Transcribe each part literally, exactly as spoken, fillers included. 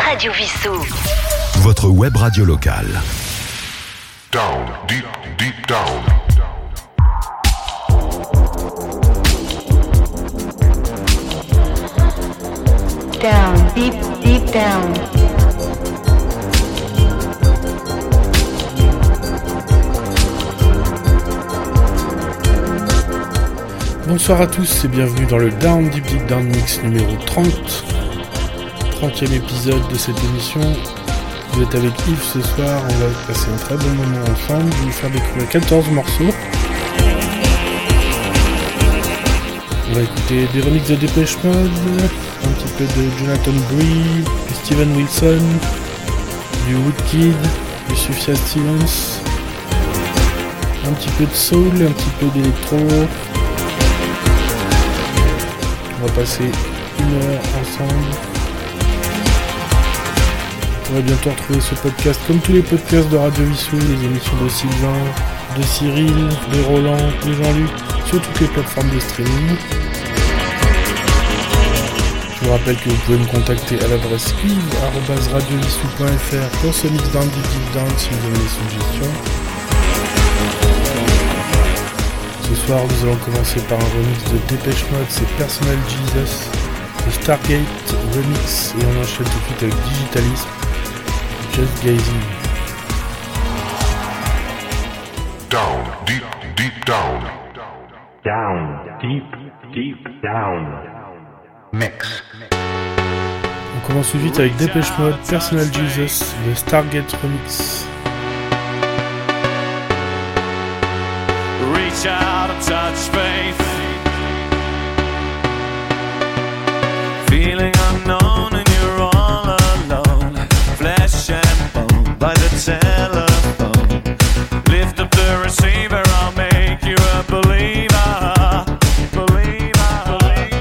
Radio Vissou. Votre web radio locale. Down, deep, deep down. Down, deep, deep down. Bonsoir à tous et bienvenue dans le Down Deep Deep Down Mix numéro trente. trentième épisode de cette émission. Vous êtes avec Yves ce soir, on va passer un très bon moment ensemble. Je vais vous faire découvrir quatorze morceaux. On va écouter des remixes de Depeche Mode, un petit peu de Jonathan Bree, du Steven Wilson, du Woodkid, du Sufjan Stevens, un petit peu de soul, un petit peu d'électro. On va passer une heure ensemble. Vous pourrez bientôt retrouver ce podcast comme tous les podcasts de Radio Vissou, les émissions de Sylvain, de Cyril, de Roland, de Jean-Luc, sur toutes les plateformes de streaming. Je vous rappelle que vous pouvez me contacter à l'adresse yves arobase radio vissou point f r pour ce mix down, deep deep down si vous avez des suggestions. Ce soir, nous allons commencer par un remix de Depeche Mode, c'est Personal Jesus, le Stargate remix, et on enchaîne tout de suite avec Digitalism, Just Gazing. Down, deep, deep down. Down, deep, deep down. Mix. On commence tout de suite avec Depeche Mode, Personal Jesus, le Stargate remix. Reach out and touch faith. Feeling unknown and you're all alone. Flesh and bone by the telephone. Lift up the receiver, I'll make you a believer. Believer.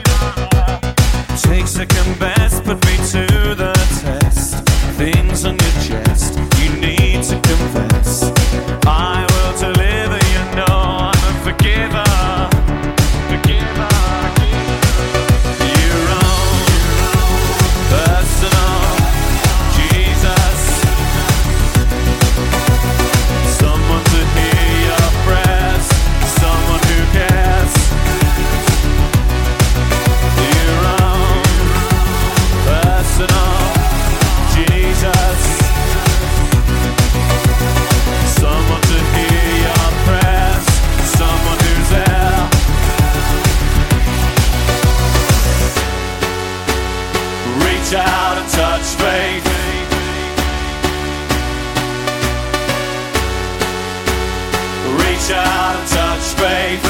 Take second best, put me to the test. Things on your chest, you need to confess. I will deliver, you know I'm a forgiver. Forgiver. Your own personal Jesus. Someone to hear your prayers, someone who cares. Your own personal Jesus. Someone to hear your prayers, someone who's there. Reach out and touch faith. Reach out and touch faith.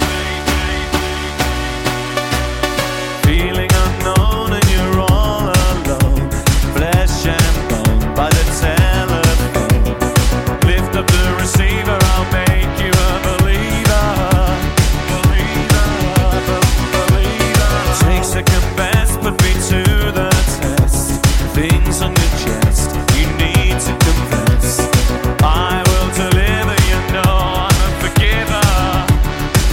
Feeling unknown and you're all alone. Flesh and bone by the telephone. Lift up the receiver, I'll make you a believer. Believer, believer. Take second best, put me to the test. Things on your chest, you need to confess. I will deliver, you know I'm a forgiver.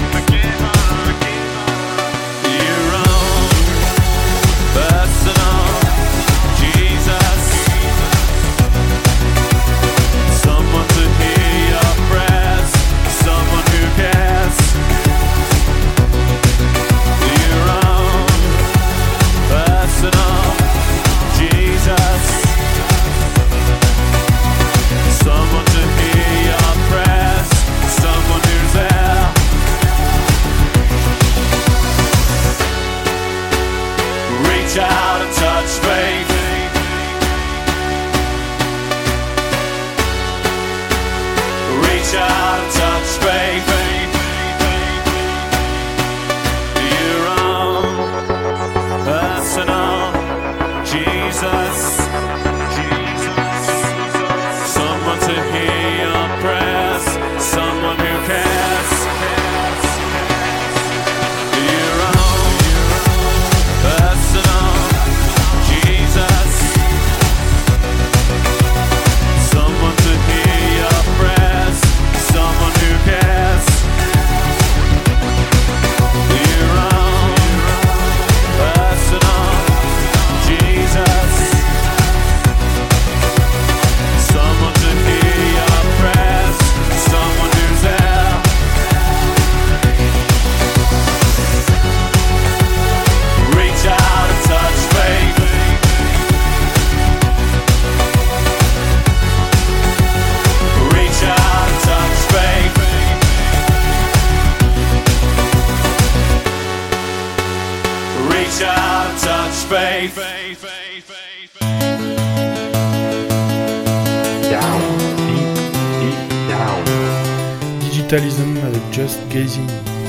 Down, deep, deep down. Digitalism avec Just Gazing.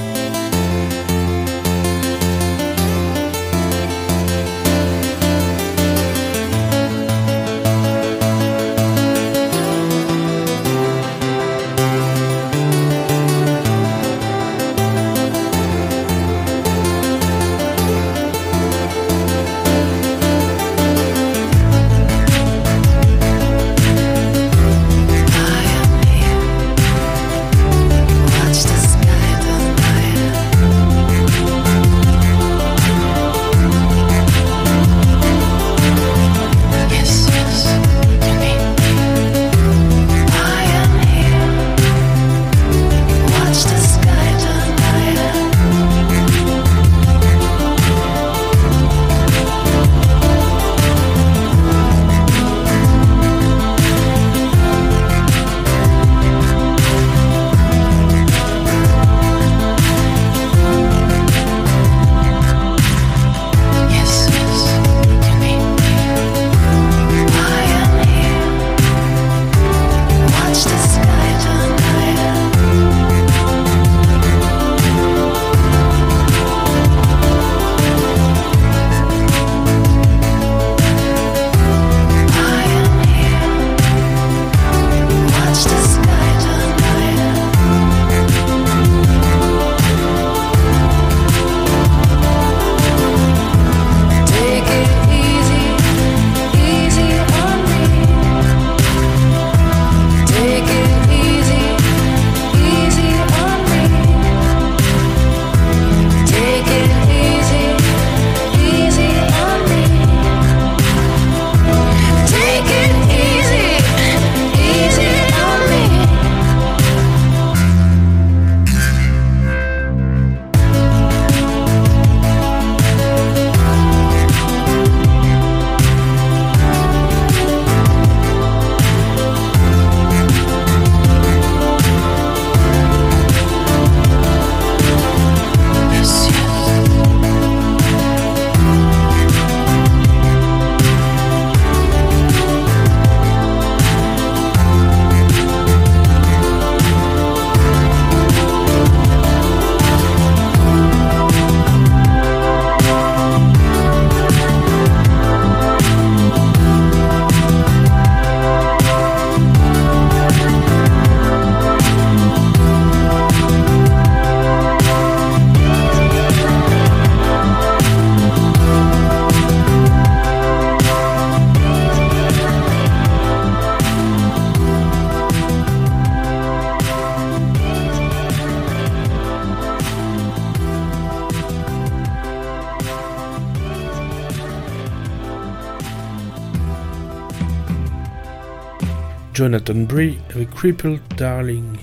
Jonathan Bree avec Crippled Darling.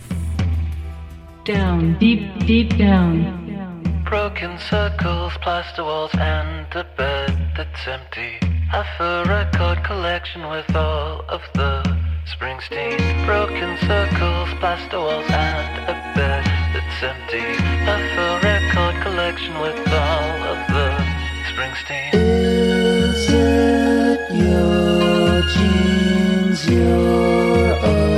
Down, deep, deep down. Broken circles, plaster walls, and a bed that's empty. Half a record collection with all of the Springsteen. Broken circles, plaster walls, and a bed that's empty. Half a record collection with all of the Springsteen. Is it your genes you're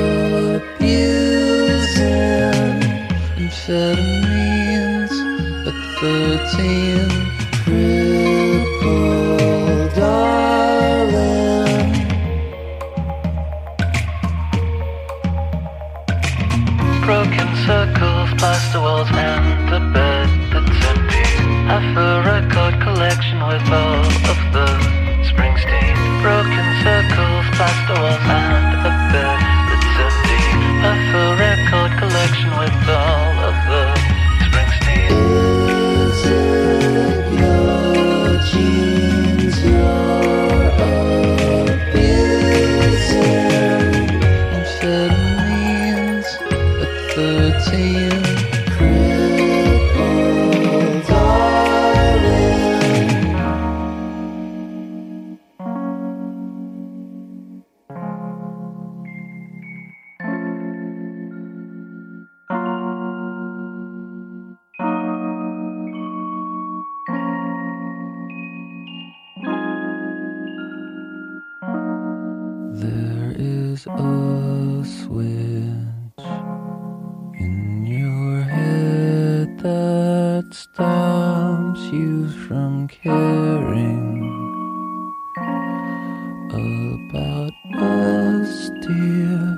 abusing? Amphetamines at thirteen. Crippled darling. Broken circles, plaster walls, and a bed that's empty. Half a record collection with all of the Springsteen. Broken circles, plaster walls, and a bed that's empty. Half a record collection with all of the Springsteen. Is it your genes you're abusing? Amphetamines at thirteen. Crippled darling. There is a switch in your head that stops you from caring about us, dear.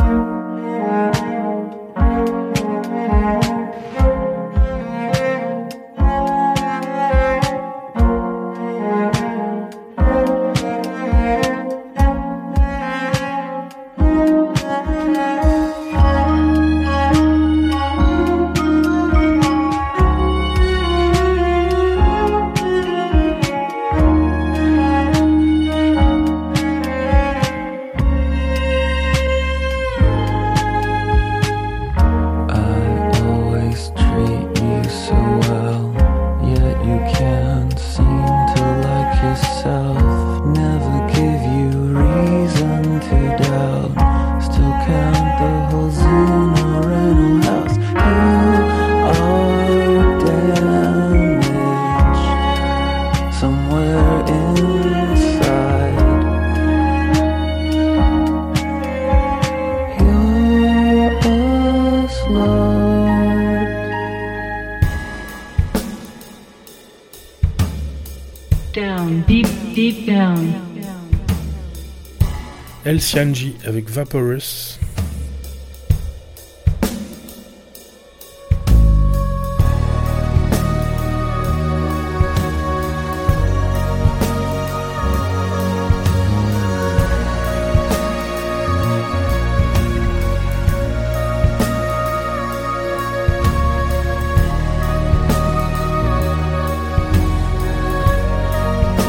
El Cianji avec Vaporous.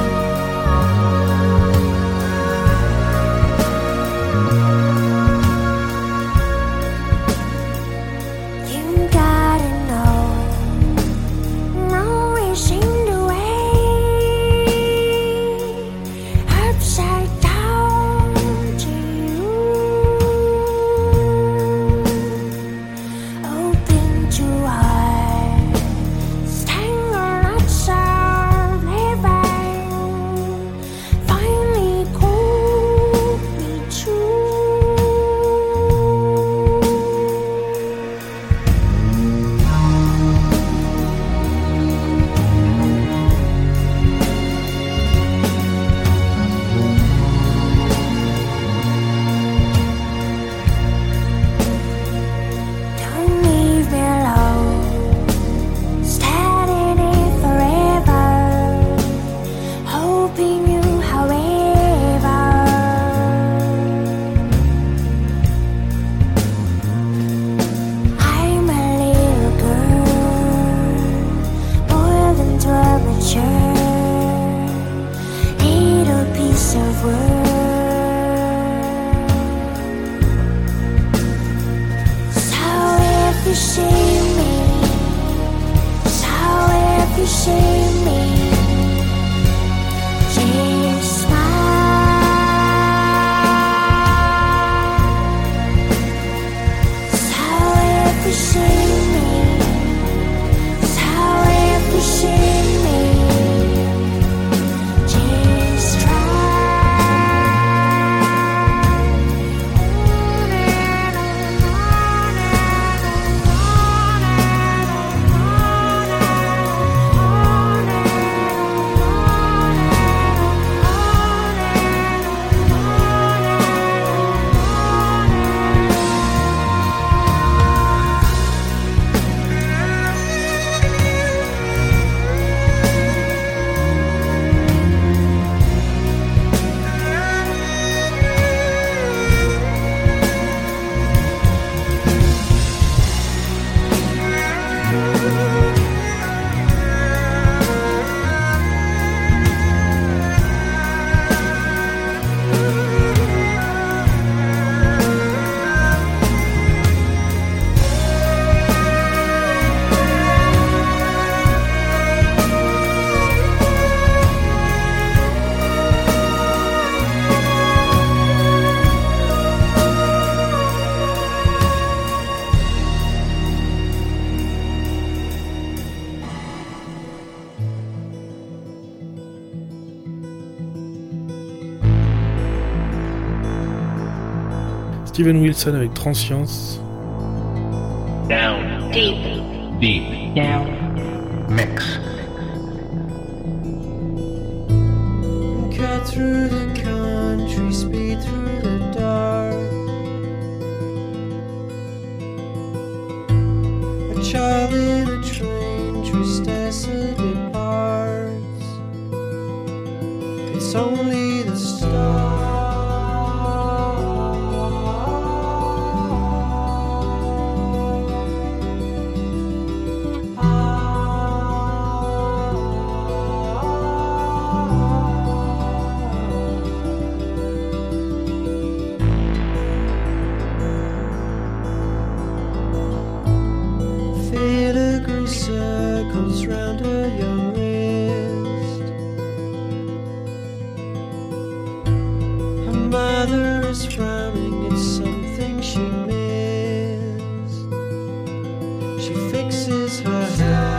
Thank Steven Wilson avec Transience. Down. Deep. Deep. Down. Mix. Cut through the country, speed through the dark. A child in a train, tristessa departs. It's only the start. Circles round her young wrist. Her mother is frowning, it's something she missed. She fixes her hair.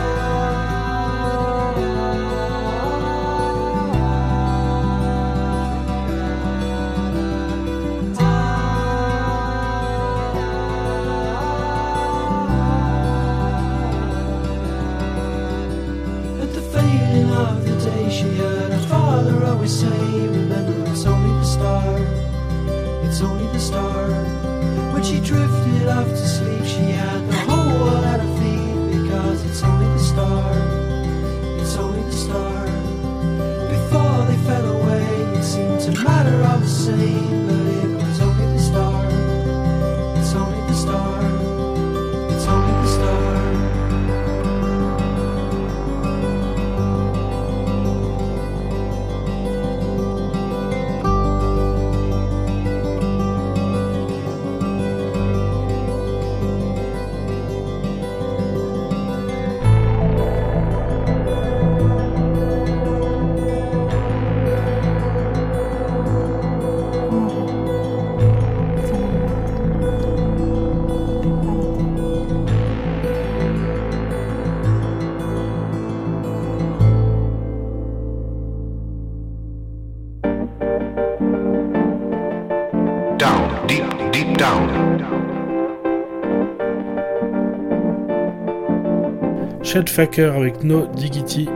She heard her father always say, remember it's only the start, it's only the start. When she drifted off to sleep, she had the whole world at her feet, because it's only the start, it's only the start. Before they fell away, it seemed to matter all the same, but it was only the start, it's only the start, it's only the start. Chet Faker avec No Diggity.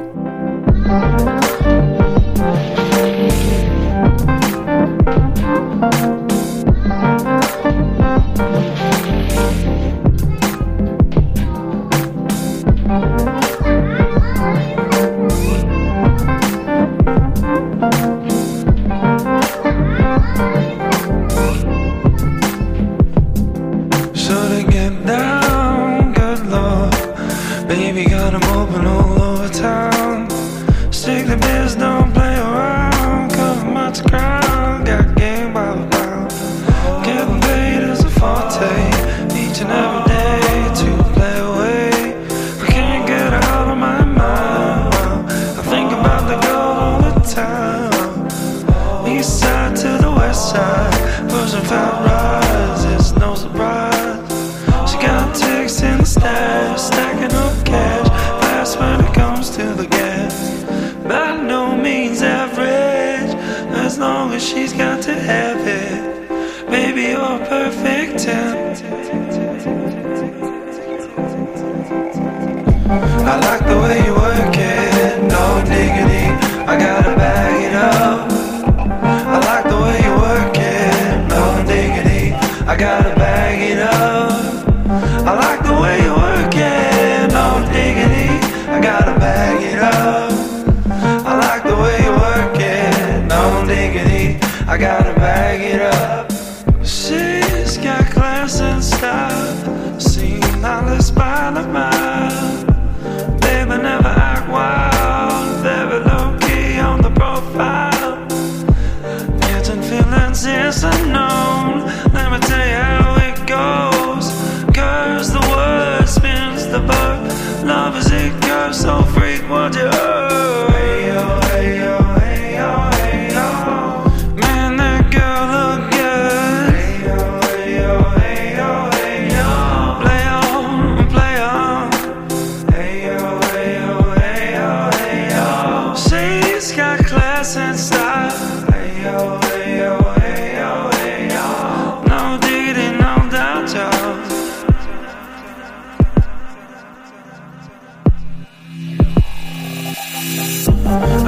No diggity.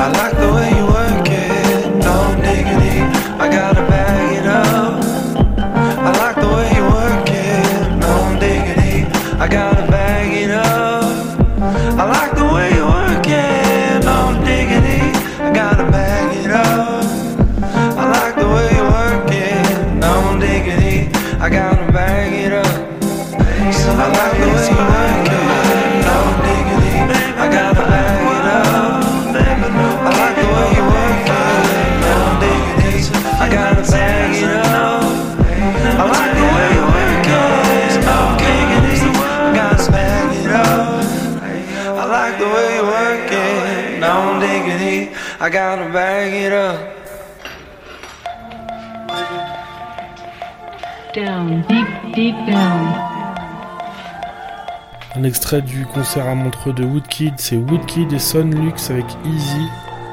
I like the way you work it, no diggity, I gotta bag it up. I like the way you work it, no diggity, I gotta bag it up. I like the way you work it, no diggity, I gotta bag it up. I like the way you work it, no diggity, I gotta bag it up. I like the way you work it, no diggity, I gotta bag it up. I like the way you work it, no diggity, I gotta bag it up. I like the way you work it, no diggity, I gotta bag it up. I like the way you work it, no diggity, I gotta bag it up. Down, deep, deep down. Un extrait du concert à Montreux de Woodkid, c'est Woodkid et Son Lux avec Easy.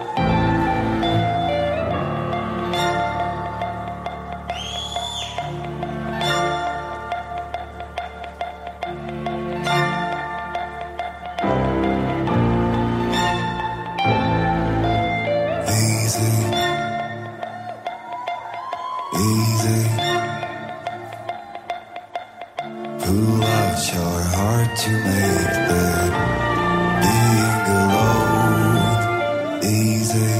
Pull out your heart to make the being alone easy,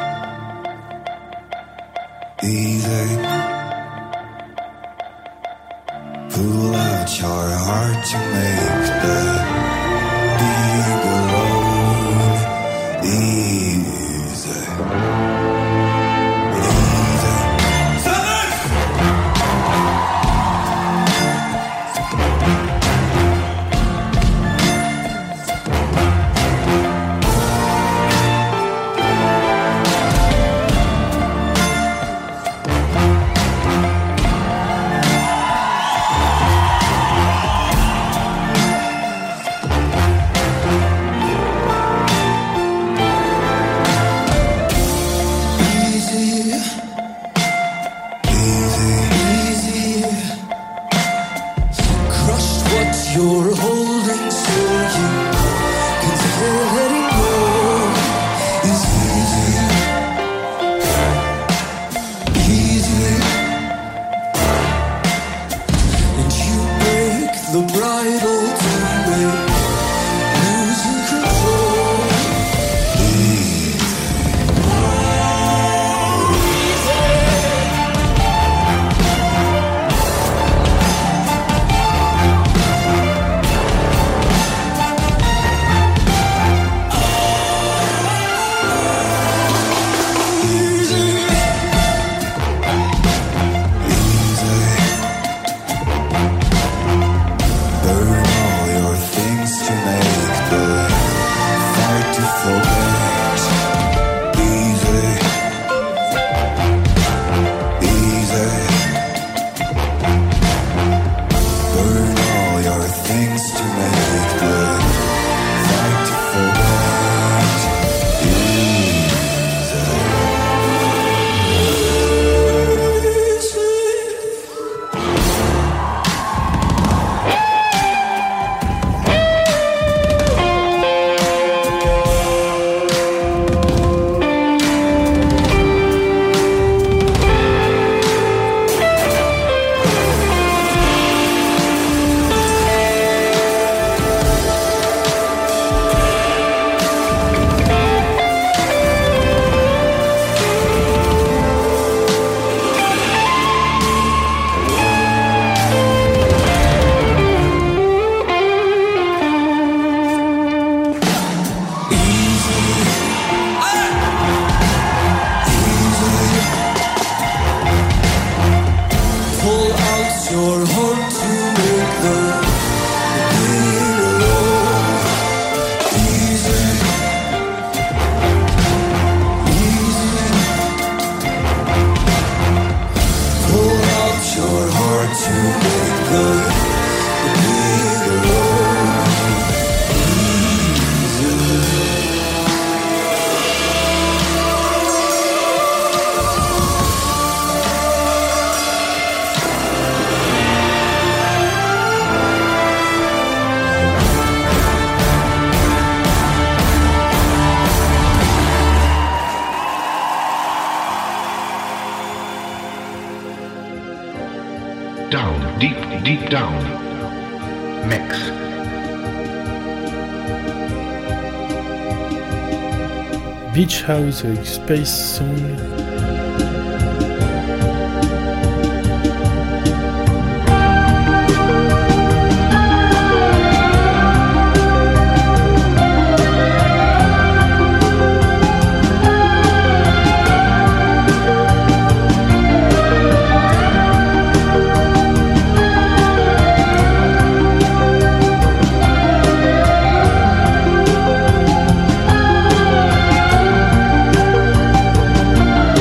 easy. Pull out your heart to make the being alone easy. down, deep, deep down. Mix. Beach House avec Space Song. Thank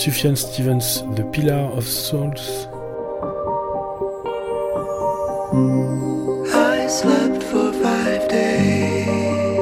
Sufjan Stevens, The Pillar of Souls. I slept for five days.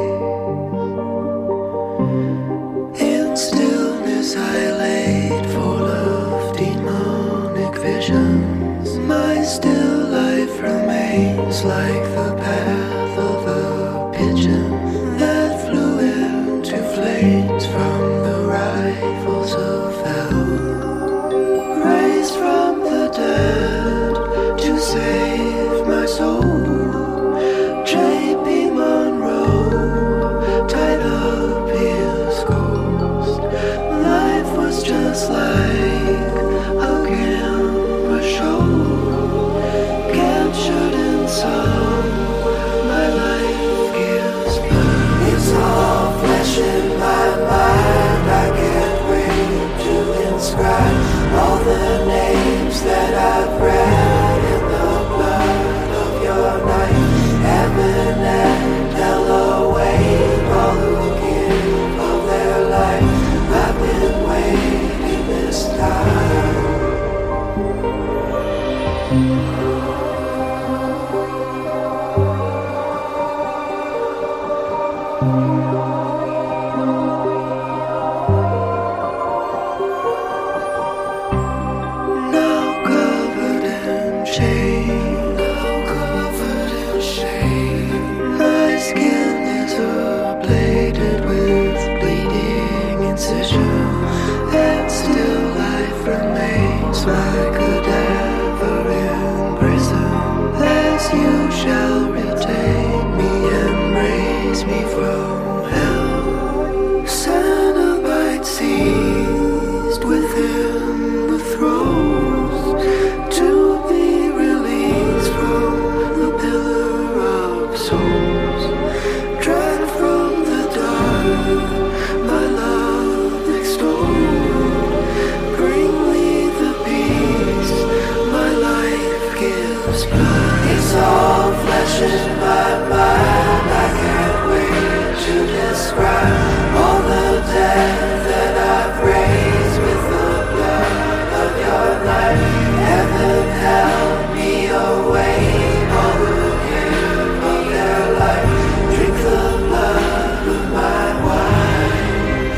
In stillness I laid full of demonic visions. My still life remains like the path of a pigeon that flew into flames from the rifles of hell. Raised from the dead to save my soul. J P Monroe tied up his ghost. Life was just like a camera show, captured in song. My life gives birth. It's all flesh in my mind. I can't wait to inscribe all the names that I've read in the blood of your night. Heaven and hell await all who give of their life. I've been waiting this time. Now covered in shame, now covered in shame. My skin is ablated with bleeding incision, and still life remains my cadaver in prison. As you shall retain me and raise me from hell. Cenobite seized within the throes, to be released from the pillar of souls. Dragged from the dark, my love extolled. Bring me the peace my life gives blood. It's all flesh in my mind. I can't wait to describe all the death that I've raised with the blood of your life. Heaven help me away, all who give of their life. Drink the blood of my wine.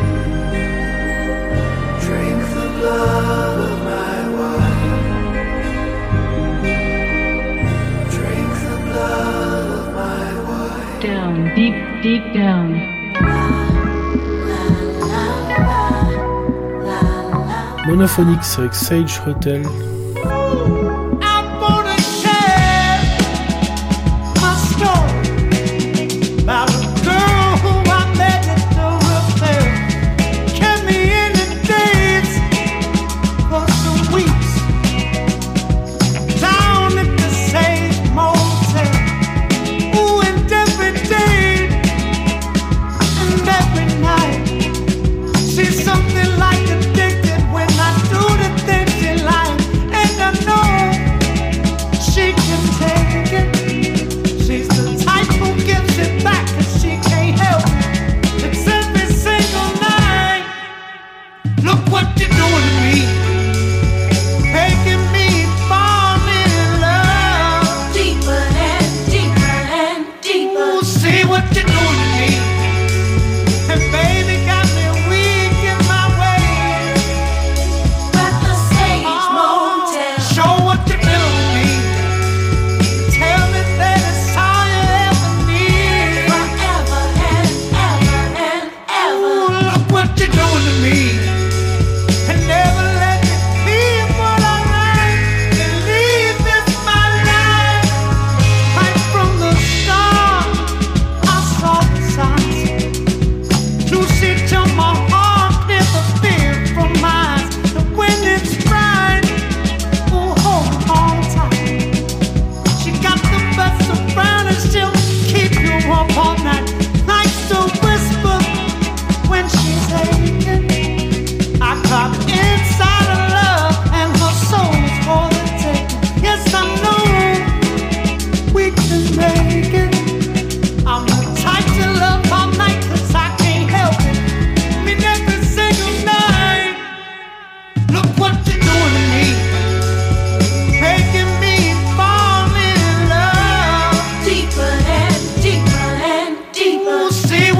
Drink the blood of my wine. Drink the blood of my wine. Down, deep, deep down. Monophonics avec Sage Hotel. I'm gonna share my story about a girl who I met at the repair. Kept me in the days for some weeks, down at the Sage Motel. Ooh, and every day and every night, she's something like addicted when I do the things she likes. And I know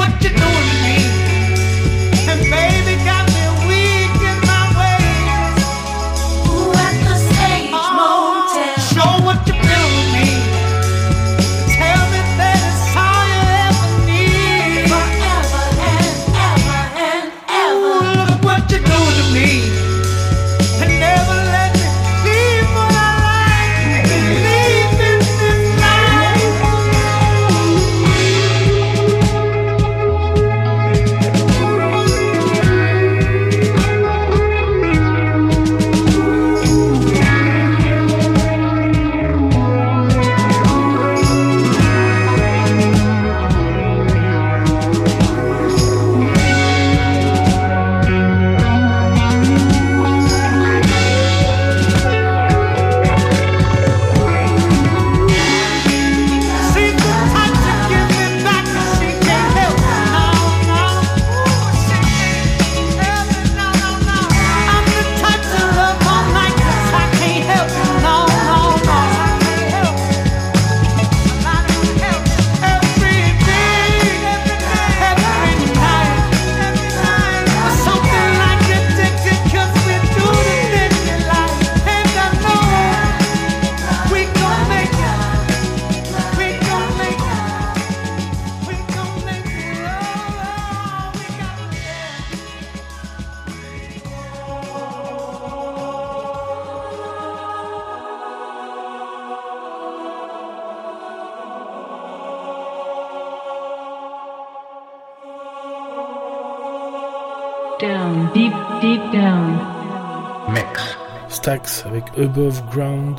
Down, deep, deep down. Mix. Stax avec Above Ground.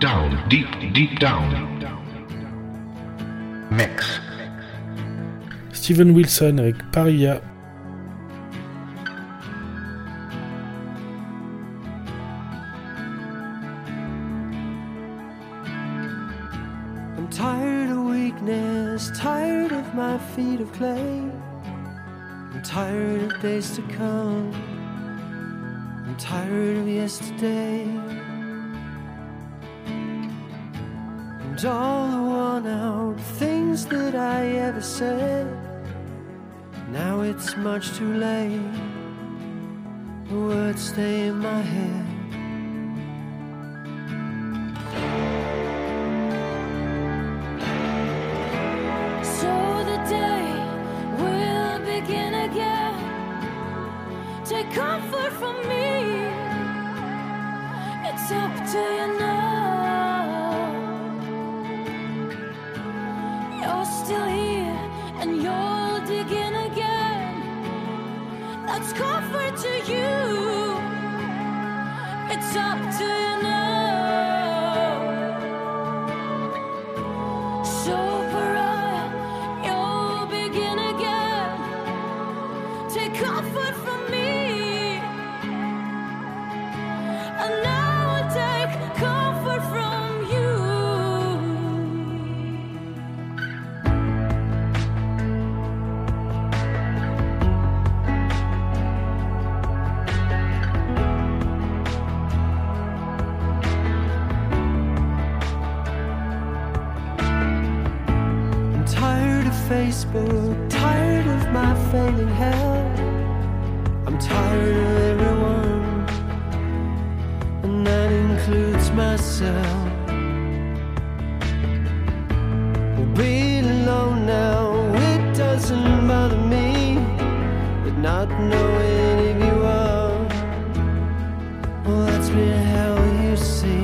down, deep, deep down. Mix. Steven Wilson avec Paria. I'm tired of weakness, tired of my feet of clay. I'm tired of days to come. I'm tired of yesterday. And all the worn out things that I ever said, now it's much too late. The words stay in my head. So the day will begin again. Take comfort from me. It's up to you now. You're still here and you'll dig in again. That's comfort to you. It's up to you now. So pariah, you'll begin again. Take comfort from me. And now I'll take comfort from you. I'm tired of Facebook, tired of my failing health. I'm tired of everyone, and that includes myself. Being alone now, it doesn't bother me, but not knowing if you are, well, that's been hell, you see.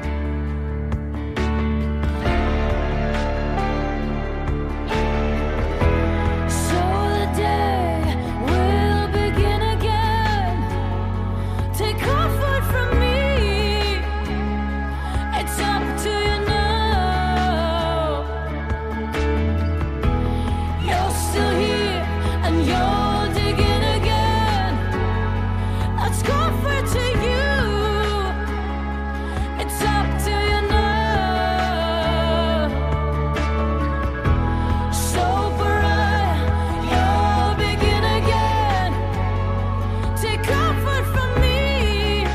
So the day will begin again. Take comfort from me. It's up to you now. You're still here and you're digging again. That's comfort to you. It's up to you now. So pariah, you'll begin again. Take comfort from me.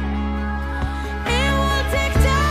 It will take time.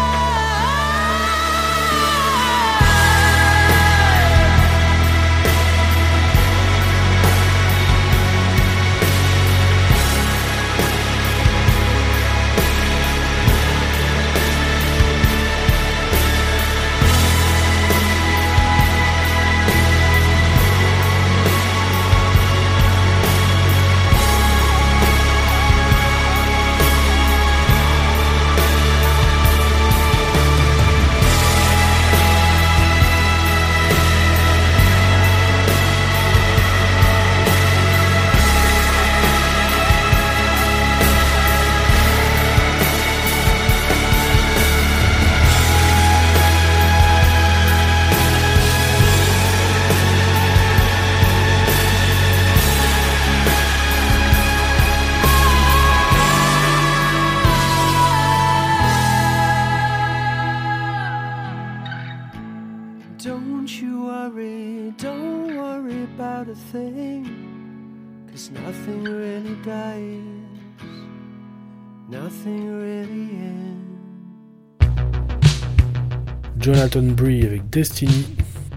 Don't you worry, don't worry about a thing, 'cause nothing really dies, nothing really ends. Jonathan Bree avec Destiny.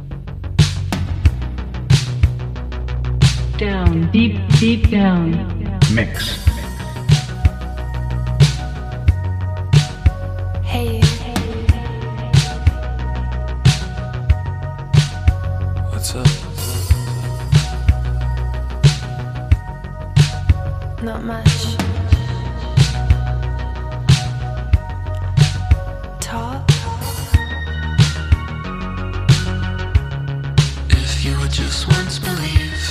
Down, deep, deep down. Mix. Hey, What's up? not much. Talk. If you would just once believe,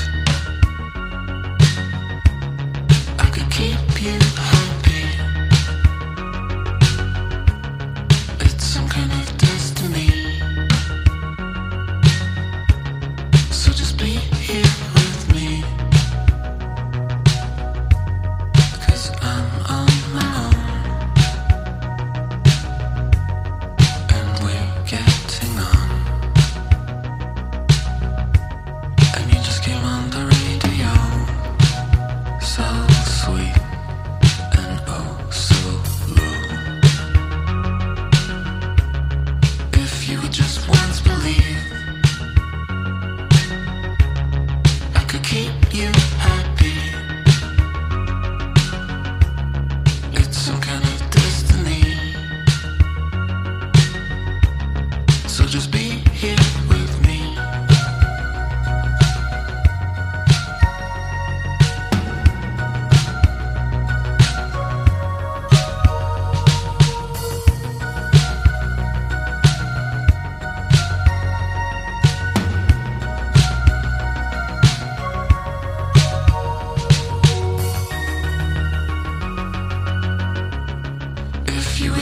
I could keep you happy.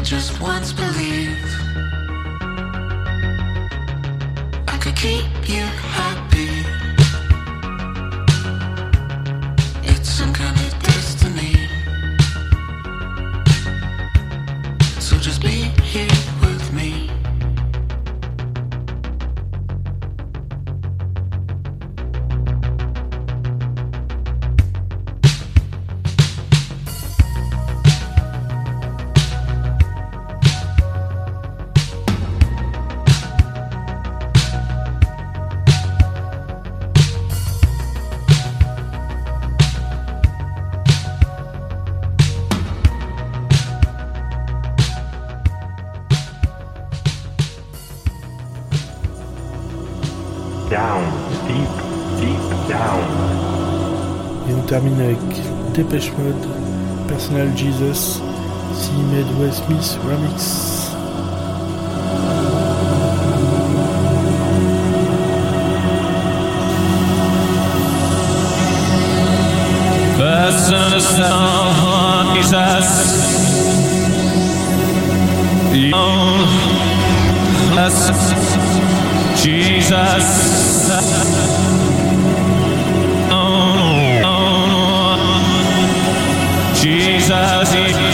just once believe I could keep you happy. It's some kind of destiny. So just be here with me. Down, deep, deep down. Et on termine avec Depeche Mode, Personal Jesus, C. Medway Smith Remix. Personal Jesus, young, Jesus, oh, oh, Jesus,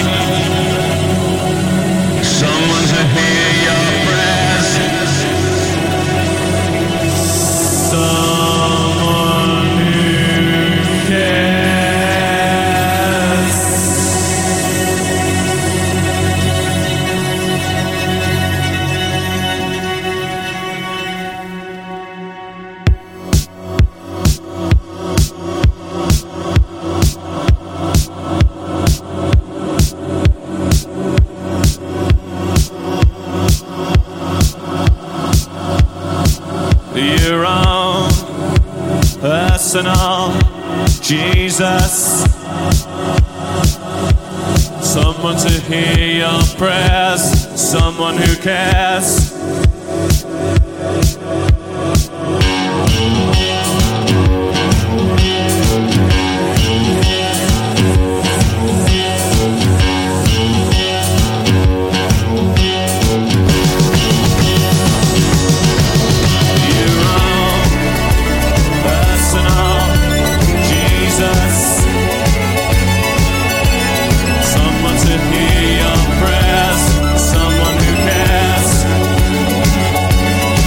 someone to hear your prayers, someone who cares. Your own personal Jesus, someone to hear your prayers, someone who cares. Someone to hear your prayers, someone who cares.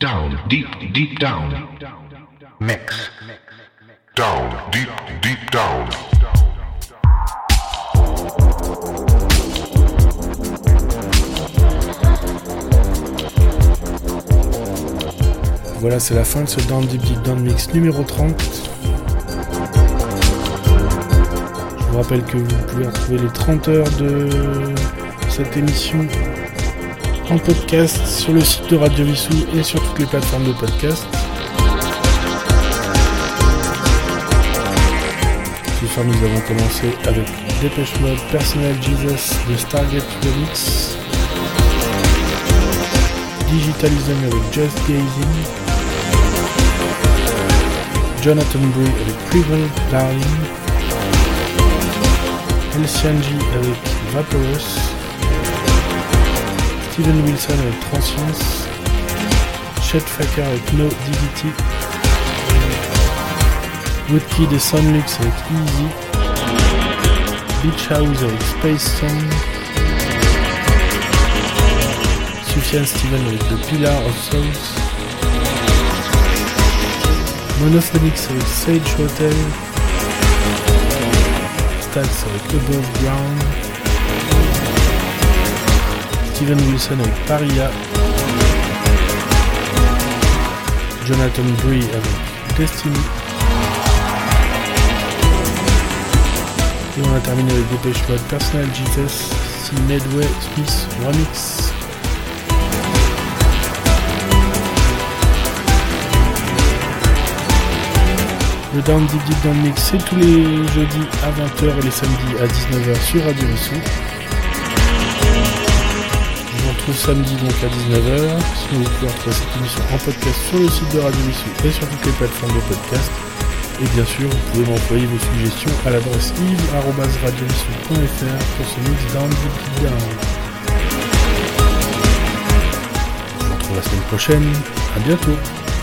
down, deep, deep down. Mix. Down, deep, deep down. Voilà, c'est la fin de ce Down Deep Deep Down Mix numéro trente. Je vous rappelle que vous pouvez retrouver les trente heures de cette émission en podcast sur le site de Radio Vissou et sur toutes les plateformes de podcast. Ce soir, nous avons commencé avec Depeche Mode, Personal Jesus, The Stargate Remix, Digitalism avec Just Gazing, Jonathan Bray avec Prevail Darling, Elsianji avec Vaporous, Steven Wilson avec Transience, Chet Faker avec No Diggity, Woodkid et Sunlux avec Easy, Beach House avec Space Song, Sufjan Stevens avec The Pillar of Souls, Monophonics avec Sage Hotel, Stax avec Above Ground, Steven Wilson avec Paria, Jonathan Bray avec Destiny, et on a terminé avec Depeche Mode, Personal Jesus, C. Medway Smith Remix. Le Down Deep Deep Down Mix, c'est tous les jeudis à vingt heures et les samedis à dix-neuf heures sur Radio Vissou. Je vous retrouve samedi donc à dix-neuf heures. Sinon vous pouvez retrouver cette émission en podcast sur le site de Radio Vissou et sur toutes les plateformes de podcast. Et bien sûr, vous pouvez m'envoyer vos suggestions à l'adresse yves arobase radio vissou point f r pour ce mix Down Deep Deep Down. Je vous retrouve la semaine prochaine. À bientôt.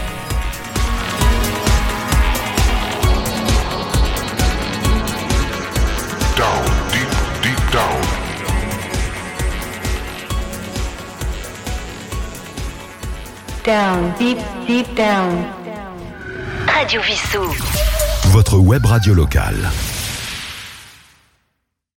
Down, deep, deep down. Radio Vissou. Votre web radio locale.